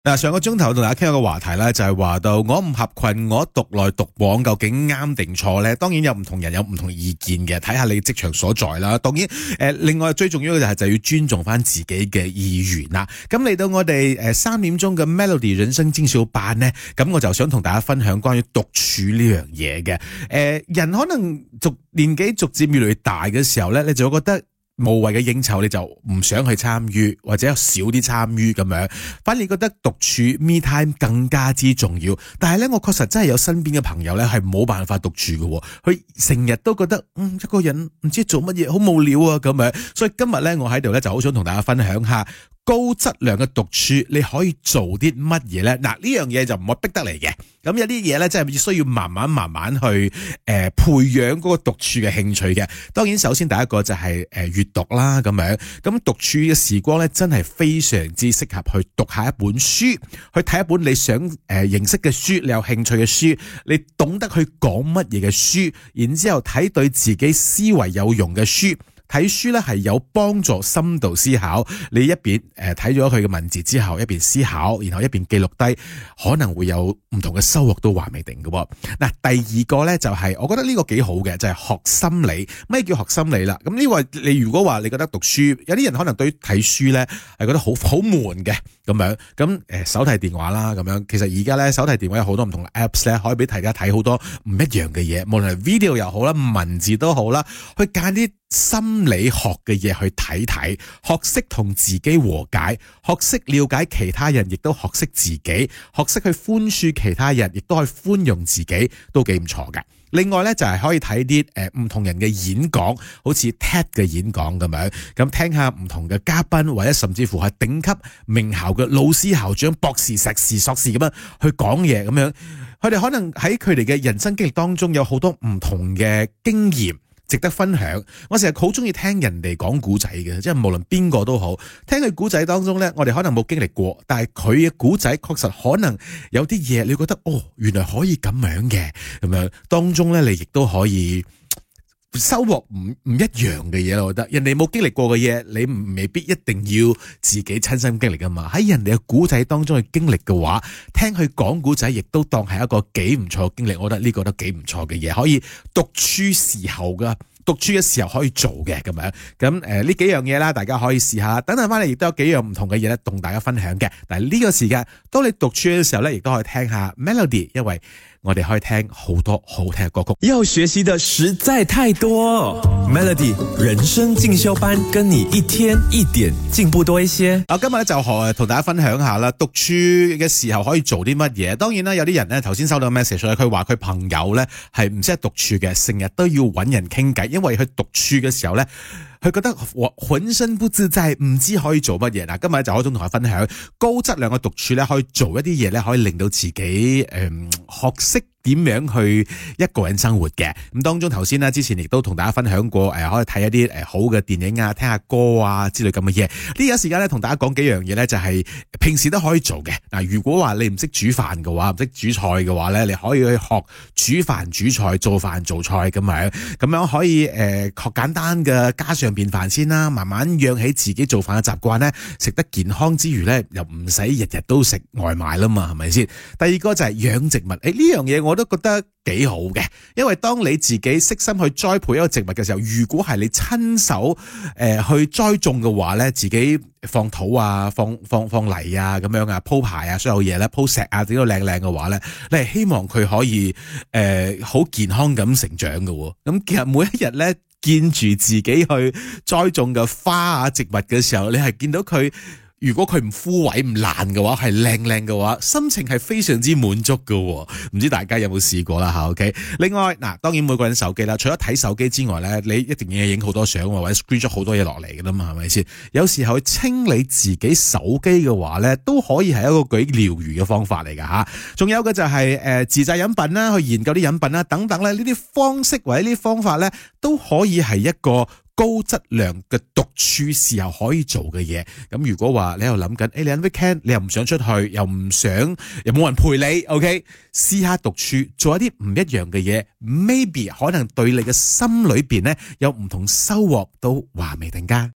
嗱，上個鐘頭同大家傾一個話題咧，就係話到我唔合群，我獨來獨往，究竟啱定錯咧？當然有唔同人有唔同意見嘅，睇下你職場所在啦。當然，另外最重要嘅就要尊重翻自己嘅意願啦。咁嚟到我哋3點鐘嘅 Melody 人生進修班呢，咁我就想同大家分享關於獨處呢樣嘢嘅。人可能年紀逐漸越嚟越大嘅時候咧，你就會覺得無謂嘅應酬你就唔想去參與，或者少啲參與咁樣，反而覺得獨處 me time 更加之重要。但係咧，我確實真係有身邊嘅朋友咧係冇辦法獨處嘅，佢成日都覺得一個人唔知做乜嘢好無聊啊咁樣。所以今日咧，我喺度咧就好想同大家分享下高質量嘅獨處，你可以做啲乜嘢咧？嗱，呢樣嘢就唔係逼得嚟嘅。咁有啲嘢咧，真係需要慢慢去培養嗰個獨處嘅興趣嘅。當然，首先第一個就係閱讀啦，咁樣。咁獨處嘅時光咧，真係非常之適合去讀下一本書，去睇一本你想認識嘅書，你有興趣嘅書，你懂得去講乜嘢嘅書，然之後睇對自己思維有用嘅書。睇書咧係有幫助深度思考，你一邊睇咗佢嘅文字之後，一邊思考，然後一邊記錄低，可能會有唔同嘅收穫都話未定嘅。嗱，第二個咧就係，我覺得呢個幾好嘅，就係學心理。咩叫學心理啦？咁呢個你如果話你覺得讀書，有啲人可能對於睇書咧係覺得好悶嘅咁樣，咁手提電話啦咁樣，其實而家咧手提電話有好多唔同嘅 apps 咧，可以俾大家睇好多唔一樣嘅嘢，無論係 video 又好啦，文字都好啦，去揀啲心理學嘅嘢去睇睇，學識同自己和解，學識了解其他人，亦都學識自己，學識去寬恕其他人，亦都可以寬容自己，都幾唔錯㗎。另外咧就係可以睇啲唔同人嘅演講，好似 TED 嘅演講咁樣，咁聽下唔同嘅嘉賓，或者甚至乎係頂級名校嘅老師、校長、博士、碩士、碩士咁樣去講嘢咁樣，佢哋可能喺佢哋嘅人生經歷當中有好多唔同嘅經驗值得分享。我成日好中意聽人哋講古仔嘅，即係無論邊個都好，聽佢古仔當中咧，我哋可能冇經歷過，但係佢嘅古仔確實可能有啲嘢，你覺得原來可以咁樣嘅，咁樣當中咧，你亦都可以收穫唔一樣嘅嘢。我覺得人哋冇經歷過嘅嘢，你未必一定要自己親身經歷噶嘛。喺人哋嘅古仔當中去經歷嘅話，聽佢講古仔，亦都當係一個幾唔錯嘅經歷。我覺得呢個都幾唔錯嘅嘢，可以獨處時候噶。獨處嘅時候可以做嘅咁樣，咁呢幾樣嘢啦，大家可以試下。等陣翻嚟亦都有幾樣唔同嘅嘢咧，同大家分享嘅。但係呢個時間，當你獨處嘅時候咧，亦都可以聽下 Melody， 因為我哋可以聽好多好聽嘅歌曲。 要學習的實在太多 Melody 人生進修班，跟你一天一點進步多一些。 今日咧就同大家分享下啦，獨處嘅時候可以做啲乜嘢。當然啦，有啲人咧頭先收到 message 咧，佢話佢朋友咧係唔識得獨處嘅，成日都要揾人傾偈，因為佢獨處嘅時候咧，佢覺得渾身不自在，唔知可以做乜嘢。嗱，今日就可以同大家分享高質量嘅獨處咧，可以做一啲嘢咧，可以令到自己學識點樣去一個人生活嘅。咁當中頭先之前亦都同大家分享過，可以睇一啲好嘅電影啊，聽下歌啊之類咁嘅嘢。呢個時間咧，同大家講幾樣嘢咧，就係平時都可以做嘅。嗱，如果話你唔識煮飯嘅話，唔識煮菜嘅話咧，你可以去學煮飯煮菜，做飯做菜咁樣可以學簡單嘅家常便飯先啦，慢慢養起自己做飯嘅習慣咧，食得健康之餘咧，又唔使日日都食外賣啦嘛，係咪先？第二個就係養植物，呢樣嘢我都覺得幾好嘅，因為當你自己悉心去栽培一個植物嘅時候，如果係你親手去栽種嘅話咧，自己放土啊，放泥啊，咁樣啊，鋪排啊，所有嘢咧，鋪石啊，整到靚靚嘅話咧，你係希望佢可以好健康咁成長嘅。咁其實每一日咧，見住自己去栽種嘅花啊植物嘅時候，你係見到佢，如果佢唔枯萎唔爛嘅話，係靚靚嘅話，心情係非常之滿足嘅。唔知大家有冇試過啦吓 ？OK。另外嗱，當然每個人手機啦，除咗睇手機之外咧，你一定要影好多相或者 screen 咗好多嘢落嚟嘅啦嘛，係咪先？有時候去清理自己手機嘅話咧，都可以係一個幾療愈嘅方法嚟噶吓。仲有嘅就係自製飲品啦，去研究啲飲品啦，等等咧，呢啲方式或者呢啲方法咧，都可以係一個高質量嘅獨處時候可以做嘅嘢。咁如果話你喺度諗緊，你喺 weekend 你又唔想出去，又冇人陪你 ，OK， 試下獨處，做一啲唔一樣嘅嘢 ，maybe 可能對你嘅心裏邊咧有唔同收穫，都話未定㗎。